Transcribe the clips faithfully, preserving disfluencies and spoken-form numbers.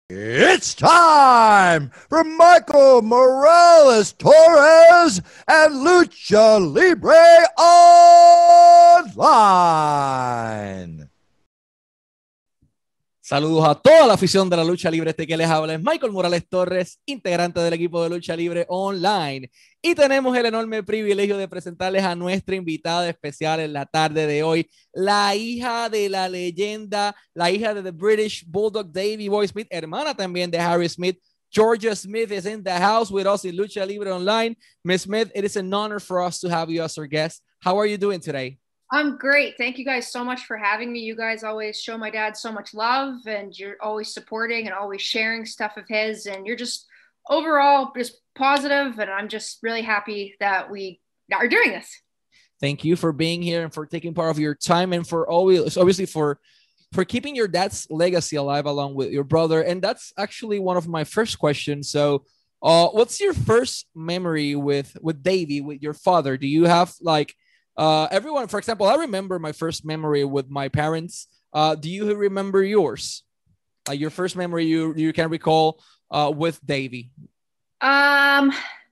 It's time for Michael Morales Torres and Lucha Libre Online. Saludos a toda la afición de la lucha libre. Este que les habla es Michael Morales Torres, integrante del equipo de Lucha Libre Online. Y tenemos el enorme privilegio de presentarles a nuestra invitada especial en la tarde de hoy, la hija de la leyenda, la hija de The British Bulldog, Davey Boy Smith, hermana también de Harry Smith. Georgia Smith is in the house with us in Lucha Libre Online. Miss Smith, it is an honor for us to have you as our guest. How are you doing today? I'm great. Thank you guys so much for having me. You guys always show my dad so much love, and you're always supporting and always sharing stuff of his, and you're just overall just positive, and I'm just really happy that we are doing this. Thank you for being here and for taking part of your time, and for always obviously for for keeping your dad's legacy alive along with your brother. And that's actually one of my first questions. So uh what's your first memory with with Davey, with your father? Do you have like Uh, everyone, for example, I remember my first memory with my parents. Uh, do you remember yours? Like your first memory you you can recall uh, with Davey? Um,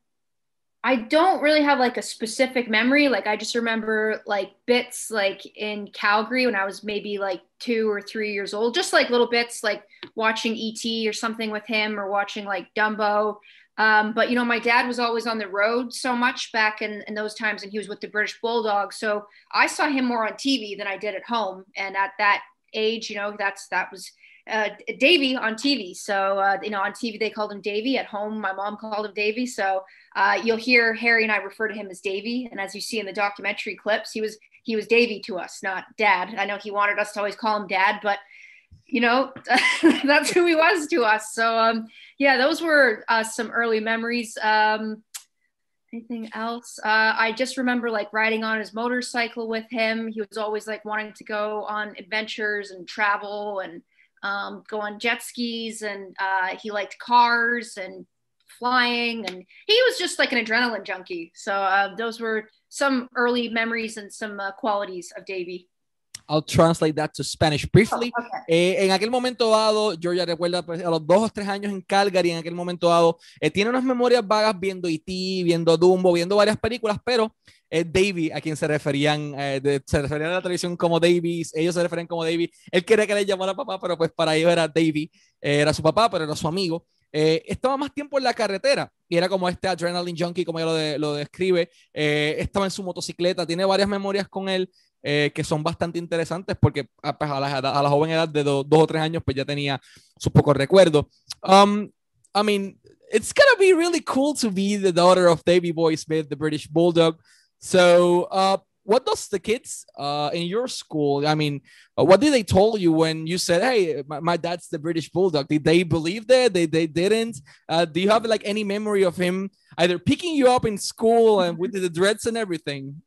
I don't really have like a specific memory. Like I just remember like bits like in Calgary when I was maybe like two or three years old, just like little bits like watching E T or something with him, or watching like Dumbo. Um, but, you know, my dad was always on the road so much back in, in those times, and he was with the British Bulldog. So I saw him more on T V than I did at home. And at that age, you know, that's that was uh, Davey on T V. So, uh, you know, on T V, they called him Davey. At home, my mom called him Davey. So uh, you'll hear Harry and I refer to him as Davey. And as you see in the documentary clips, he was he was Davey to us, not Dad. I know he wanted us to always call him Dad, but you know, that's who he was to us. So, um, yeah, those were uh, some early memories. Um, anything else? Uh, I just remember like riding on his motorcycle with him. He was always like wanting to go on adventures and travel and um, go on jet skis. And uh, he liked cars and flying. And he was just like an adrenaline junkie. So uh, those were some early memories and some uh, qualities of Davey. I'll translate that to Spanish briefly. Oh, okay. eh, en aquel momento dado, Georgia recuerda pues, a los dos o tres años en Calgary, en aquel momento dado, eh, tiene unas memorias vagas viendo E T, viendo Dumbo, viendo varias películas, pero eh, Davey, a quien se referían, eh, de, se referían a la televisión como Davies, ellos se referían como Davey. Él quería que le llamara papá, pero pues para ellos era Davey, eh, era su papá, pero era su amigo. Eh, estaba más tiempo en la carretera y era como este adrenaline junkie, como ella lo, de, lo describe. Eh, estaba en su motocicleta, tiene varias memorias con él. Eh, que son bastante interesantes porque a, pues, a, la, a la joven edad de do, dos o tres años pues ya tenía sus pocos recuerdos. Um, I mean, it's gonna be really cool to be the daughter of Davey Boy Smith, the British Bulldog. So, uh, what does the kids uh, in your school, I mean, uh, what did they told you when you said, hey, my, my dad's the British Bulldog? Did they believe that? They, they didn't? Uh, do you have like any memory of him either picking you up in school and with the dreads and everything?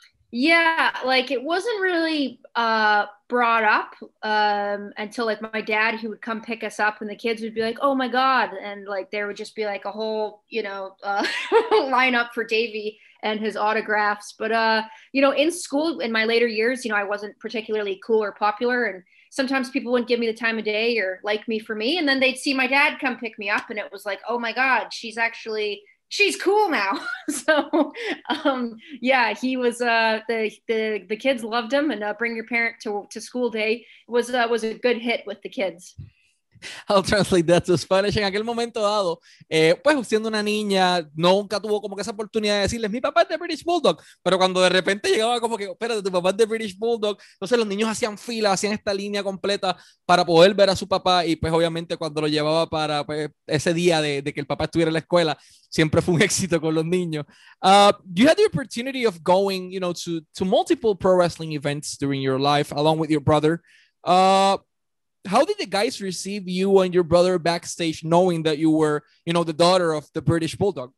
Yeah, like it wasn't really uh, brought up um, until like my dad, he would come pick us up, and the kids would be like, "Oh my God!" and like there would just be like a whole, you know, uh, lineup for Davey and his autographs. But uh, you know, in school in my later years, you know, I wasn't particularly cool or popular, and sometimes people wouldn't give me the time of day or like me for me, and then they'd see my dad come pick me up, and it was like, "Oh my God, she's actually." She's cool now. So, um, yeah, he was, uh, the, the, the kids loved him, and uh, Bring Your Parent to, to School Day was, uh, was a good hit with the kids. I'll translate that to Spanish. En aquel momento dado, eh, pues siendo una niña, nunca tuvo como que esa oportunidad de decirles, mi papá es de British Bulldog, pero cuando de repente llegaba como que, espérate, tu papá es de British Bulldog, entonces los niños hacían fila, hacían esta línea completa para poder ver a su papá, y pues obviamente cuando lo llevaba para pues, ese día de, de que el papá estuviera en la escuela, siempre fue un éxito con los niños. Uh, you had the opportunity of going, you know, to, to multiple pro wrestling events during your life, along with your brother. Uh, how did the guys receive you and your brother backstage, knowing that you were, you know, the daughter of the British Bulldog?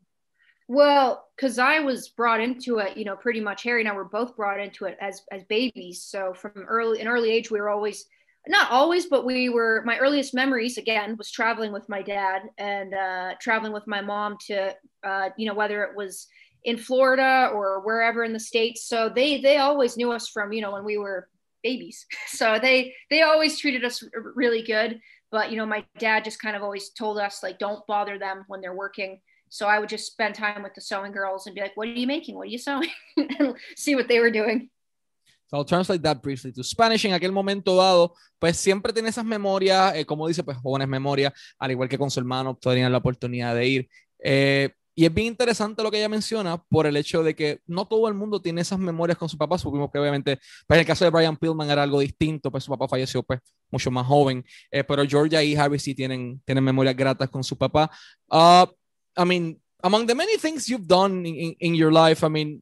Well, because I was brought into it, you know, pretty much Harry and I were both brought into it as as babies. So from early an early age, we were always, not always, but we were, my earliest memories again was traveling with my dad and uh, traveling with my mom to, uh, you know, whether it was in Florida or wherever in the States. So they they always knew us from, you know, when we were babies. So they they always treated us really good. But, you know, my dad just kind of always told us, like, don't bother them when they're working. So I would just spend time with the sewing girls and be like, what are you making? What are you sewing? And see what they were doing. So I'll translate that briefly to Spanish. En aquel momento dado, pues siempre tiene esas memorias, eh, como dice, pues jóvenes memorias, al igual que con su hermano, tenían la oportunidad de ir. Eh, y es bien interesante lo que ella menciona por el hecho de que no todo el mundo tiene esas memorias con su papá. Supimos que obviamente, pues en el caso de Brian Pillman era algo distinto, pues su papá falleció pues mucho más joven, eh, pero Georgia y Harry sí tienen, tienen memorias gratas con su papá. Uh, I mean, among the many things you've done in, in, in your life, I mean,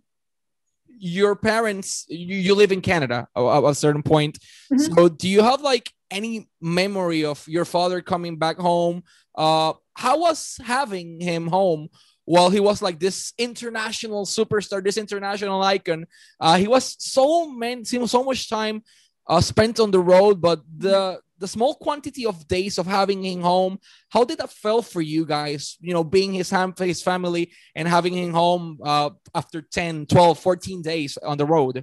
your parents, you, you live in Canada at a certain point. Mm-hmm. So do you have like any memory of your father coming back home? Uh, how was having him home while he was like this international superstar, this international icon? Uh, he was so many, so much time uh, spent on the road, but the the small quantity of days of having him home, how did that feel for you guys, you know, being his, his family and having him home uh, after ten, twelve, fourteen days on the road?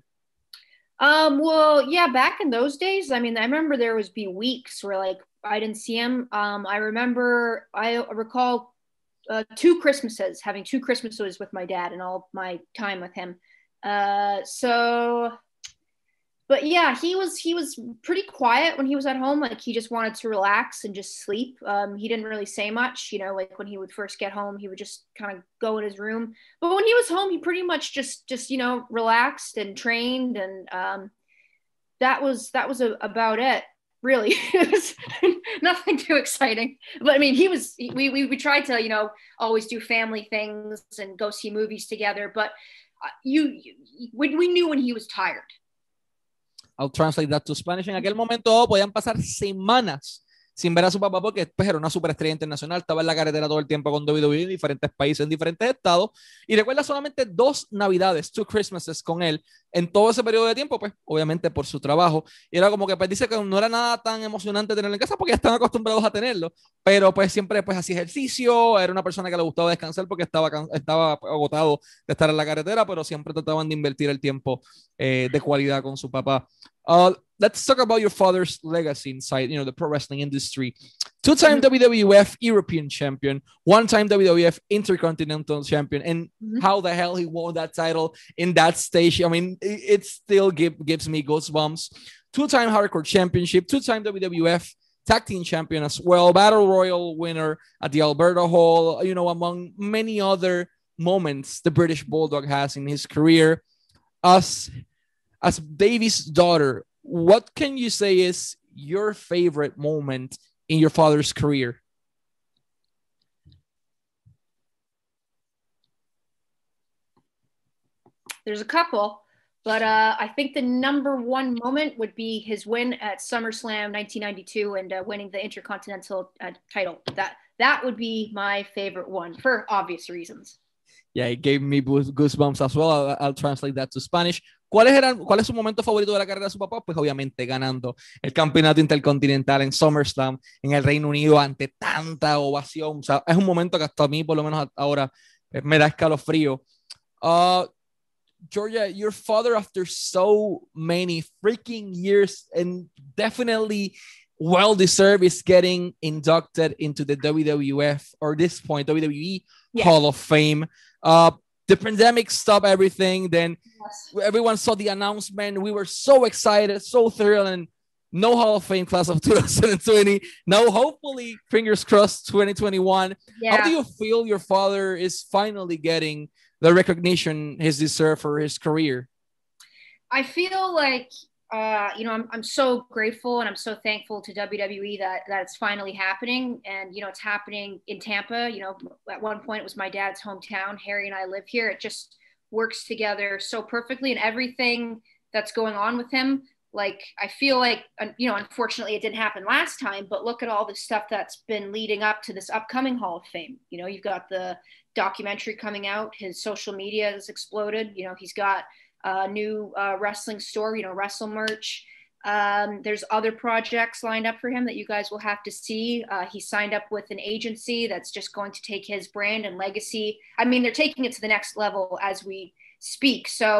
Um, well, yeah, back in those days, I mean, I remember there was be weeks where like I didn't see him. Um, I remember, I recall uh, two Christmases, having two Christmases with my dad and all my time with him. Uh, so... But yeah, he was he was pretty quiet when he was at home. Like he just wanted to relax and just sleep. Um, he didn't really say much, you know. Like when he would first get home, he would just kind of go in his room. But when he was home, he pretty much just just you know relaxed and trained, and um, that was that was a, about it. Really, it was nothing too exciting. But I mean, he was we we we tried to you know always do family things and go see movies together. But you, you we we knew when he was tired. I'll translate that to Spanish. En aquel momento podían pasar semanas sin ver a su papá porque pues, era una superestrella internacional, estaba en la carretera todo el tiempo con W W E en diferentes países, en diferentes estados, y recuerda solamente dos navidades, two Christmases con él, en todo ese periodo de tiempo, pues obviamente por su trabajo, y era como que pues dice que no era nada tan emocionante tenerlo en casa porque ya están acostumbrados a tenerlo, pero pues siempre pues hacía ejercicio, era una persona que le gustaba descansar porque estaba, estaba agotado de estar en la carretera, pero siempre trataban de invertir el tiempo eh, de cualidad con su papá. Uh, let's talk about your father's legacy inside, you know, the pro wrestling industry. Two-time mm-hmm. W W F European champion, one-time W W F Intercontinental champion, and mm-hmm. how the hell he won that title in that stage. I mean, it, it still give, gives me goosebumps. Two-time Hardcore Championship, two-time W W F Tag Team Champion as well, Battle Royal winner at the Alberta Hall, you know, among many other moments the British Bulldog has in his career. As As Davy's daughter, what can you say is your favorite moment in your father's career? There's a couple, but uh, I think the number one moment would be his win at SummerSlam nineteen ninety-two and uh, winning the Intercontinental uh, title. That that would be my favorite one for obvious reasons. Yeah, it gave me goosebumps as well. I'll, I'll translate that to Spanish. ¿Cuál es, eran, ¿Cuál es su momento favorito de la carrera de su papá? Pues obviamente ganando el campeonato intercontinental en SummerSlam en el Reino Unido ante tanta ovación. O sea, es un momento que hasta a mí, por lo menos ahora, me da escalofrío. Uh, Georgia, your father, after so many freaking years and definitely well-deserved, is getting inducted into the W W F, or this point, W W E yeah. Hall of Fame. Uh, the pandemic stopped everything. Then yes. everyone saw the announcement. We were so excited, so thrilled, and no Hall of Fame class of twenty twenty. No, hopefully, fingers crossed, twenty twenty-one. Yeah. How do you feel your father is finally getting the recognition he's deserved for his career? I feel like, uh, you know, I'm, I'm so grateful and I'm so thankful to W W E that, that it's finally happening. And, you know, it's happening in Tampa. You know, at one point it was my dad's hometown. Harry and I live here. It just works together so perfectly, and everything that's going on with him. Like, I feel like, you know, unfortunately it didn't happen last time, but look at all the stuff that's been leading up to this upcoming Hall of Fame. You know, you've got the documentary coming out. His social media has exploded. You know, he's got a new uh, wrestling store, you know, Wrestle Merch. Um, there's other projects lined up for him that you guys will have to see. Uh, he signed up with an agency that's just going to take his brand and legacy. I mean, they're taking it to the next level as we speak. So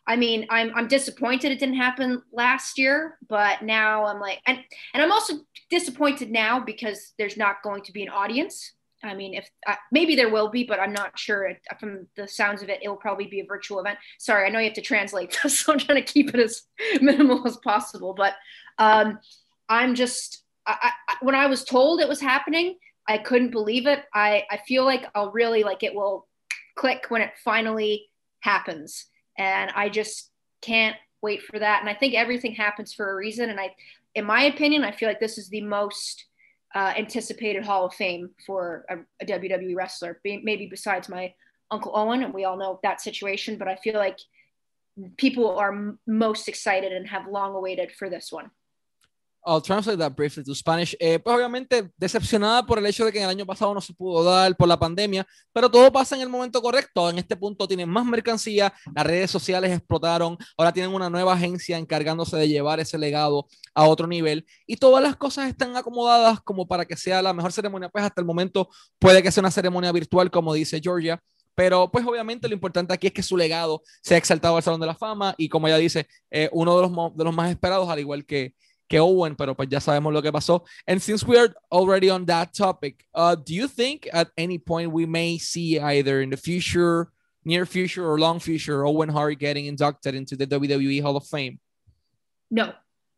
I mean, I'm I'm disappointed it didn't happen last year, but now I'm like, and and I'm also disappointed now because there's not going to be an audience. I mean, if uh, maybe there will be, but I'm not sure. From the sounds of it, it will probably be a virtual event. Sorry, I know you have to translate this, so I'm trying to keep it as minimal as possible. But um, I'm just, I, I, when I was told it was happening, I couldn't believe it. I, I feel like I'll really like it will click when it finally happens, and I just can't wait for that. And I think everything happens for a reason. And I, in my opinion, I feel like this is the most Uh, anticipated Hall of Fame for a, a W W E wrestler, maybe besides my Uncle Owen, and we all know that situation, but I feel like people are m- most excited and have long awaited for this one. I'll translate that briefly to Spanish. Eh, pues obviamente decepcionada por el hecho de que en el año pasado no se pudo dar por la pandemia, pero todo pasa en el momento correcto. En este punto tienen más mercancía, las redes sociales explotaron, ahora tienen una nueva agencia encargándose de llevar ese legado a otro nivel y todas las cosas están acomodadas como para que sea la mejor ceremonia. Pues hasta el momento puede que sea una ceremonia virtual, como dice Georgia, pero pues obviamente lo importante aquí es que su legado sea exaltado al Salón de la Fama y como ella dice, eh, uno de los, de los más esperados, al igual que que Owen, pero pues ya sabemos lo que pasó. And since we are already on that topic, uh, do you think at any point we may see either in the future, near future, or long future, Owen Hart getting inducted into the W W E Hall of Fame? No.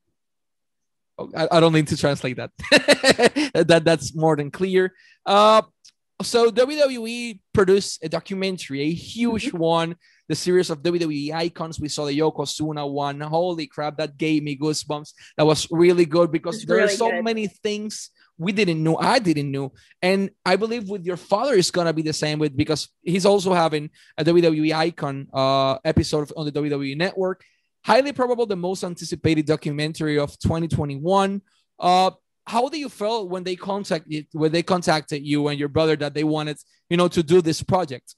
I, I don't need to translate that. that that's more than clear. Uh, so W W E produced a documentary, a huge mm-hmm. one, the series of W W E icons. We saw the Yokozuna one. Holy crap, that gave me goosebumps. That was really good because there really are so good. many things we didn't know. I didn't know. And I believe with your father is going to be the same with, because he's also having a W W E icon uh, episode on the W W E network. Highly probable the most anticipated documentary of twenty twenty-one. Uh, how do you feel when they contacted when they contacted you and your brother that they wanted, you know, to do this project?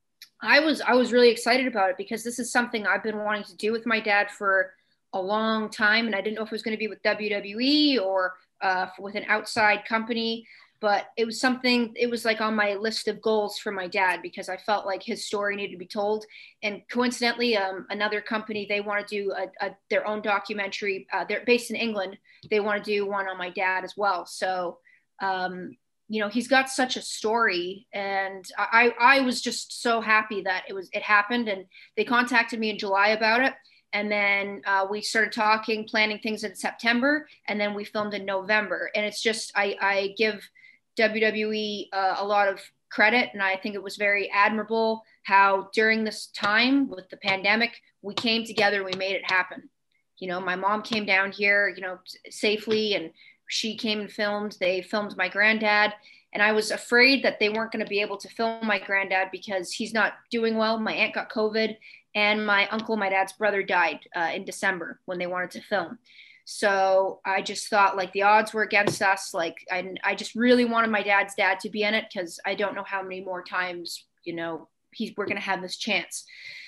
I was I was really excited about it because this is something I've been wanting to do with my dad for a long time, and I didn't know if it was going to be with W W E or uh, with an outside company, but it was something, it was like on my list of goals for my dad because I felt like his story needed to be told. And coincidentally, um, another company, they want to do a, a, their own documentary. Uh, they're based in England. They want to do one on my dad as well. So, um, you know, he's got such a story, and I, I was just so happy that it was, it happened. And they contacted me in July about it. And then uh, we started talking, planning things in September, and then we filmed in November. And it's just, I, I give W W E uh, a lot of credit, and I think it was very admirable how during this time with the pandemic, we came together, we made it happen. You know, my mom came down here, you know, safely, and she came and filmed. They filmed my granddad, and I was afraid that they weren't going to be able to film my granddad because he's not doing well. My aunt got COVID, and my uncle, my dad's brother, died uh, in December when they wanted to film. So I just thought like the odds were against us. Like I, I just really wanted my dad's dad to be in it because I don't know how many more times, you know, he's, we're going to have this chance.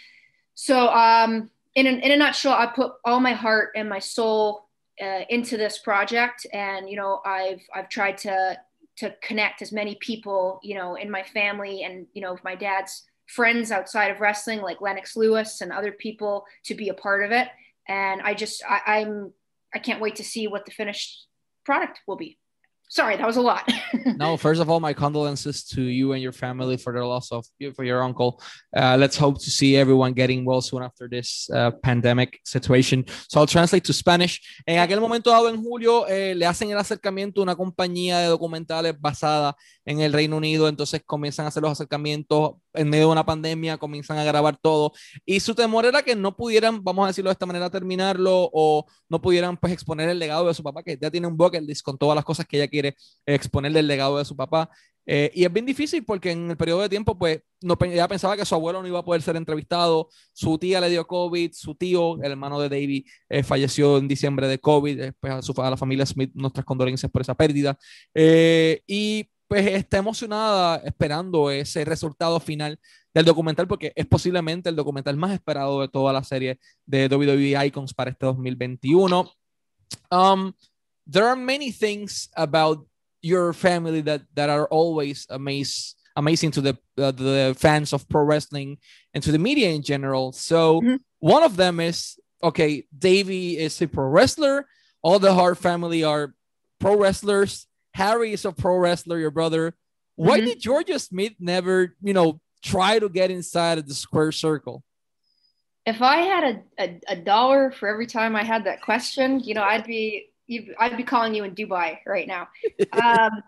So um, in, a, in a nutshell, I put all my heart and my soul uh, into this project. And, you know, I've, I've tried to, to connect as many people, you know, in my family and, you know, my dad's friends outside of wrestling, like Lennox Lewis and other people, to be a part of it. And I just, I, I'm, I can't wait to see what the finished product will be. Sorry, that was a lot. No, first of all, my condolences to you and your family for the loss of for your uncle. Uh, let's hope to see everyone getting well soon after this uh, pandemic situation. So I'll translate to Spanish. En aquel momento dado en julio, eh, le hacen el acercamiento a una compañía de documentales basada en el Reino Unido. Entonces comienzan a hacer los acercamientos en medio de una pandemia, comienzan a grabar todo. Y su temor era que no pudieran, vamos a decirlo de esta manera, terminarlo o no pudieran pues exponer el legado de su papá, que ya tiene un bucket list con todas las cosas que ella quiere exponerle el legado de su papá. Eh, y es bien difícil porque en el periodo de tiempo, pues, no, ella pensaba que su abuelo no iba a poder ser entrevistado, su tía le dio COVID, su tío, el hermano de Davey, eh, falleció en diciembre de COVID, después a, su, a la familia Smith, nuestras condolencias por esa pérdida. Eh, y pues está emocionada esperando ese resultado final del documental porque es posiblemente el documental más esperado de toda la serie de W W E Icons para este dos mil veintiuno. Um, there are many things about your family that that are always amaze, amazing to the uh, the fans of pro wrestling and to the media in general. So, mm-hmm. One of them is, okay, Davey is a pro wrestler. All the Hart family are pro wrestlers. Harry is a pro wrestler, your brother. Why mm-hmm. did Georgia Smith never, you know, try to get inside of the square circle? If I had a, a, a dollar for every time I had that question, you know, I'd be I'd be calling you in Dubai right now. um,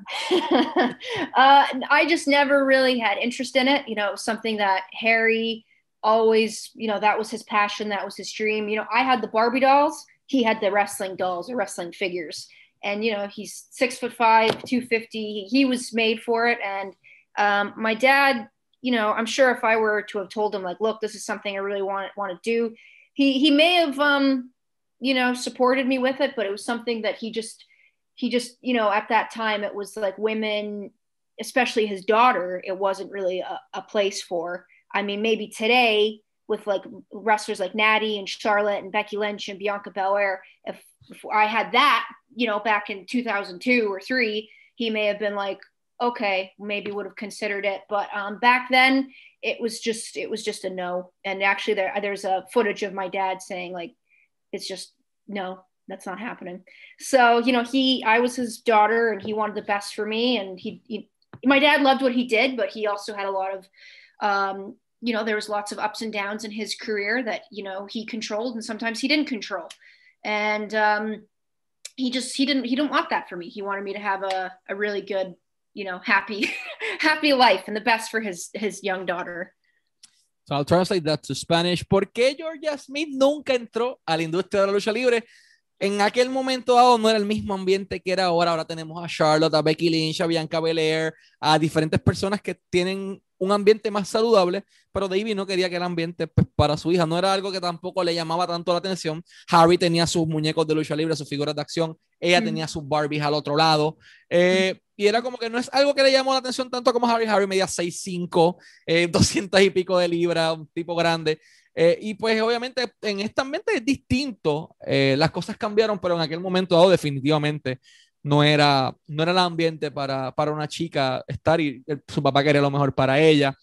uh, I just never really had interest in it. You know, it was something that Harry always, you know, that was his passion. That was his dream. You know, I had the Barbie dolls. He had the wrestling dolls or wrestling figures. And, you know, he's six foot five, two fifty. He was made for it. And um, my dad, you know, I'm sure if I were to have told him, like, look, this is something I really want, want to do, he, he may have, um, you know, supported me with it, but it was something that he just, he just, you know, at that time, it was like women, especially his daughter, it wasn't really a, a place for. I mean, maybe today with like wrestlers like Natty and Charlotte and Becky Lynch and Bianca Belair, if, if I had that, you know, back in two thousand two or three, he may have been like, okay, maybe would have considered it. But um, back then it was just, it was just a no. And actually there, there's a footage of my dad saying like, it's just, no, that's not happening. So, you know, he, I was his daughter and he wanted the best for me. And he, he my dad loved what he did, but he also had a lot of, um, you know, there was lots of ups and downs in his career that, you know, he controlled and sometimes he didn't control. And um, he just, he didn't, he didn't want that for me. He wanted me to have a, a really good, you know, happy, happy life and the best for his, his young daughter. So I'll translate that to Spanish. ¿Por qué Georgia Smith nunca entró a la industria de la lucha libre? En aquel momento dado no era el mismo ambiente que era ahora. Ahora tenemos a Charlotte, a Becky Lynch, a Bianca Belair, a diferentes personas que tienen un ambiente más saludable, pero Davey no quería que el ambiente pues, para su hija no era algo que tampoco le llamaba tanto la atención. Harry tenía sus muñecos de lucha libre, sus figuras de acción, ella mm. tenía sus Barbies al otro lado, eh, mm. y era como que no es algo que le llamó la atención tanto como Harry. Harry medía seis cinco, eh, doscientas y pico de libras, un tipo grande, eh, y pues obviamente en este ambiente es distinto, eh, las cosas cambiaron, pero en aquel momento dado definitivamente no era, no era el ambiente para, para una chica estar y el, su papá quería lo mejor para ella.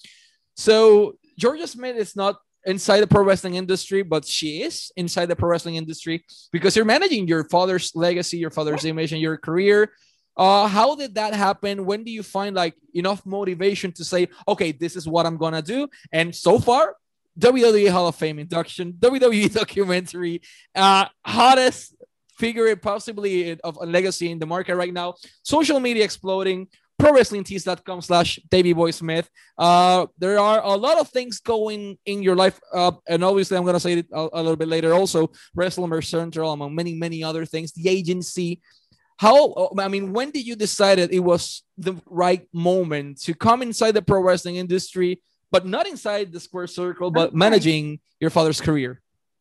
So Georgia Smith is not inside the pro wrestling industry, but she is inside the pro wrestling industry because you're managing your father's legacy, your father's image, and your career. Uh, how did that happen? When do you find like enough motivation to say, okay, this is what I'm going to do? And so far, W W E Hall of Fame induction, W W E documentary, uh, hottest figure possibly of a legacy in the market right now, social media exploding, pro wrestling tees dot com slash Davey Boy Smith. Uh, there are a lot of things going in your life. Uh, and obviously I'm going to say it a, a little bit later also, Wrestler Central, among many, many other things, the agency. How, I mean, when did you decide that it was the right moment to come inside the pro wrestling industry, but not inside the square circle, but managing your father's career?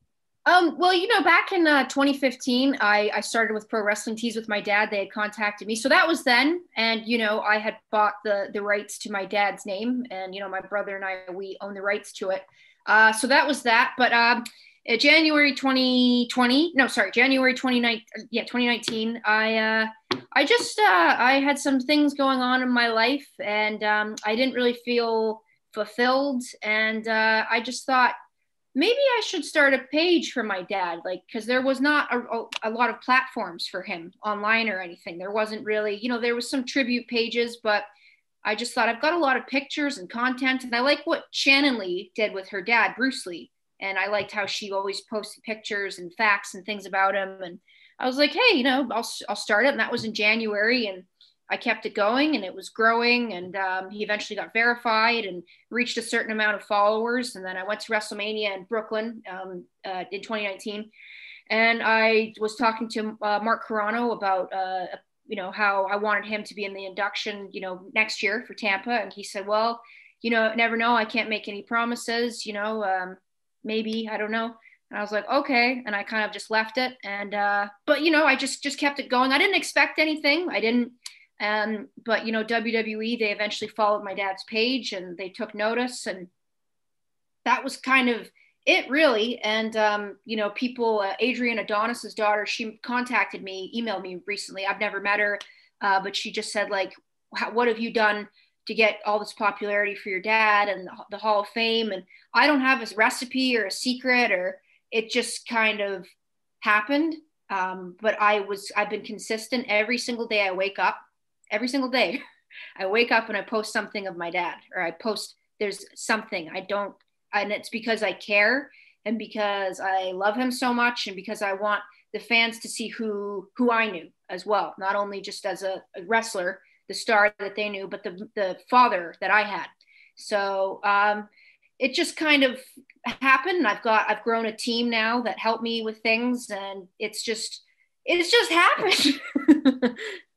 Um, well, you know, back in uh, twenty fifteen, I, I started with Pro Wrestling Tees with my dad. They had contacted me. So that was then. And, you know, I had bought the, the rights to my dad's name. And, you know, my brother and I, we own the rights to it. Uh, so that was that. But um, in January twenty twenty, no, sorry, January twenty nineteen, yeah, twenty nineteen, I, uh, I just, uh, I had some things going on in my life and um, I didn't really feel fulfilled. And uh, I just thought, maybe I should start a page for my dad, like, because there was not a, a lot of platforms for him online or anything. There wasn't really, you know, there was some tribute pages, but I just thought I've got a lot of pictures and content. And I like what Shannon Lee did with her dad, Bruce Lee. And I liked how she always posted pictures and facts and things about him. And I was like, hey, you know, I'll, I'll start it. And that was in January. And I kept it going and it was growing and um, he eventually got verified and reached a certain amount of followers. And then I went to WrestleMania in Brooklyn um, uh, in twenty nineteen. And I was talking to uh, Mark Carano about, uh, you know, how I wanted him to be in the induction, you know, next year for Tampa. And he said, well, you know, never know. I can't make any promises, you know, um, maybe, I don't know. And I was like, okay. And I kind of just left it. And, uh, but, you know, I just, just kept it going. I didn't expect anything. I didn't. Um, but, you know, W W E, they eventually followed my dad's page and they took notice and that was kind of it really. And, um, you know, people, uh, Adrian Adonis's daughter, she contacted me, emailed me recently. I've never met her, uh, but she just said like, what have you done to get all this popularity for your dad and the, the Hall of Fame. And I don't have a recipe or a secret, or it just kind of happened. Um, but I was, I've been consistent every single day. I wake up every single day. I wake up and I post something of my dad, or I post, there's something I don't, and it's because I care and because I love him so much, and because I want the fans to see who, who I knew as well. Not only just as a, a wrestler, the star that they knew, but the, the father that I had. So um, it just kind of happened. I've got, I've grown a team now that help me with things, and it's just, it's just happened.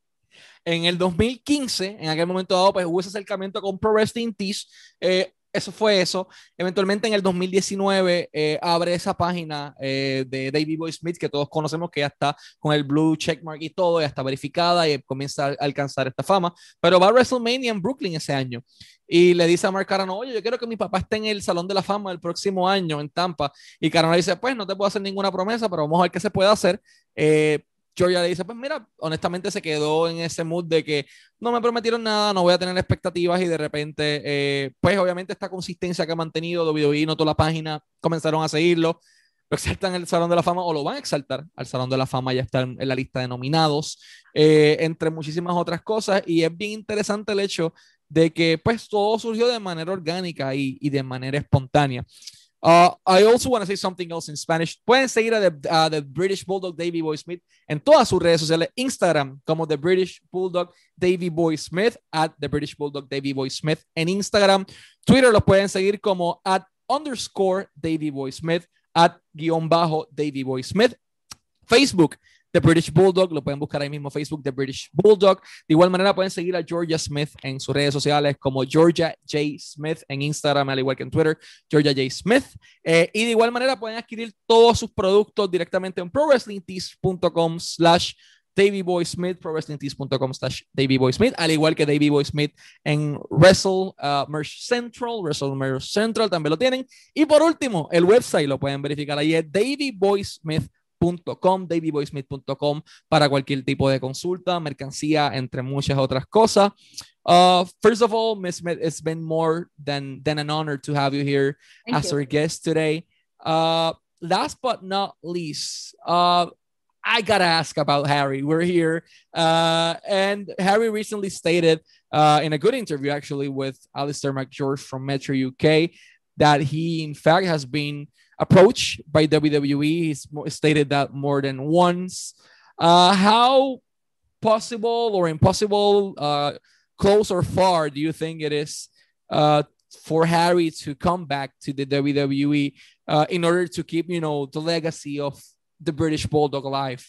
En el dos mil quince, en aquel momento dado, pues hubo ese acercamiento con Pro Wrestling Tees. Eh, eso fue eso. Eventualmente en el dos mil diecinueve eh, abre esa página eh, de Davey Boy Smith, que todos conocemos, que ya está con el blue checkmark y todo, ya está verificada y comienza a alcanzar esta fama. Pero va a WrestleMania en Brooklyn ese año y le dice a Mark Carano, oye, yo quiero que mi papá esté en el Salón de la Fama el próximo año en Tampa. Y Carano le dice, pues no te puedo hacer ninguna promesa, pero vamos a ver qué se puede hacer. Eh, Georgia le dice, pues mira, honestamente se quedó en ese mood de que no me prometieron nada, no voy a tener expectativas, y de repente, eh, pues obviamente esta consistencia que ha mantenido W W E, notó la página, comenzaron a seguirlo, lo exaltan en el Salón de la Fama, o lo van a exaltar al Salón de la Fama, ya está en, en la lista de nominados, eh, entre muchísimas otras cosas, y es bien interesante el hecho de que pues todo surgió de manera orgánica y, y de manera espontánea. Uh, I also want to say something else in Spanish. Pueden seguir a the, uh, the British Bulldog Davey Boy Smith en todas sus redes sociales. Instagram como The British Bulldog Davey Boy Smith, at The British Bulldog Davey Boy Smith en Instagram. Twitter los pueden seguir como at underscore Davey Boy Smith, at guión bajo Davey Boy Smith. Facebook, The British Bulldog, lo pueden buscar ahí mismo, Facebook, The British Bulldog. De igual manera pueden seguir a Georgia Smith en sus redes sociales como Georgia J. Smith en Instagram, al igual que en Twitter, Georgia J. Smith. Eh, y de igual manera pueden adquirir todos sus productos directamente en prowrestlingtees.com slash Davey Boy Smith, prowrestlingtees.com slash Davey Boy Smith, al igual que Davey Boy Smith en Wrestle uh, Merch Central, Wrestle Merch Central también lo tienen. Y por último, el website lo pueden verificar ahí, es davey boy smith punto com, davey boy smith punto com, para cualquier tipo de consulta, mercancía, entre muchas otras cosas. Uh, first of all, Miz Smith, it's been more than, than an honor to have you here Thank as you. Our guest today. Uh, last but not least, uh, I gotta ask about Harry. We're here, uh, and Harry recently stated uh, in a good interview, actually, with Alistair McGeorge from Metro U K, that he, in fact, has been approached by W W E. He's stated that more than once. Uh, how possible or impossible, uh, close or far, do you think it is uh, for Harry to come back to the W W E uh, in order to keep, you know, the legacy of the British Bulldog alive?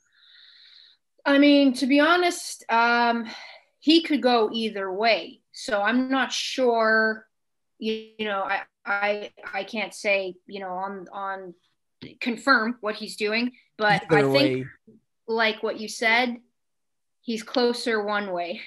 I mean, to be honest, um, he could go either way. So I'm not sure, you, you know, I, I I can't say, you know, on on confirm what he's doing, but Either I think way. Like what you said, he's closer one way.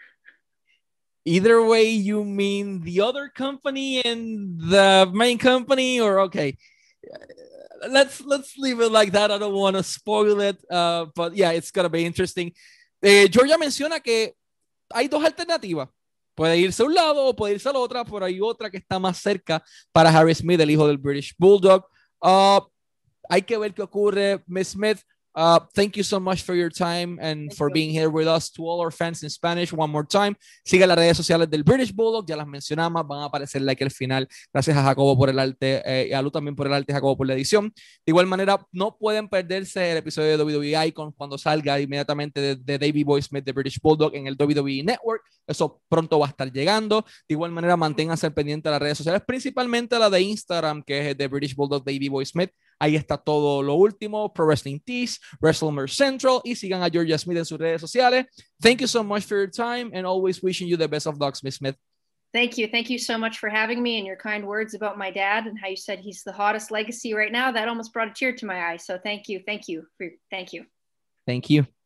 Either way, you mean the other company and the main company, or okay? Let's let's leave it like that. I don't want to spoil it, uh, but yeah, it's gonna be interesting. Eh, Georgia menciona que hay dos alternativas. Puede irse a un lado o puede irse a la otra, pero hay otra que está más cerca para Harry Smith, el hijo del British Bulldog. Uh, hay que ver qué ocurre. Miz Smith, uh, thank you so much for your time and thank for you. being here with us. To all our fans in Spanish, one more time. Siga las redes sociales del British Bulldog, ya las mencionamos, van a aparecer like al final. Gracias a Jacobo por el arte, eh, y a Lu también por el arte, Jacobo por la edición. De igual manera, no pueden perderse el episodio de W W E Icon cuando salga inmediatamente de, de Davey Boy Smith, de British Bulldog, en el W W E Network. Eso pronto va a estar llegando. De igual manera, manténganse pendientes de las redes sociales, principalmente la de Instagram, que es de British Bulldog Davey Boy Smith. Ahí está todo lo último, Pro Wrestling Tees, WrestleMerch Central, y sigan a Georgia Smith en sus redes sociales. Thank you so much for your time, and always wishing you the best of luck, Miz Smith. Thank you. Thank you so much for having me and your kind words about my dad and how you said he's the hottest legacy right now. That almost brought a tear to my eye. So thank you. Thank you. For, thank you. Thank you.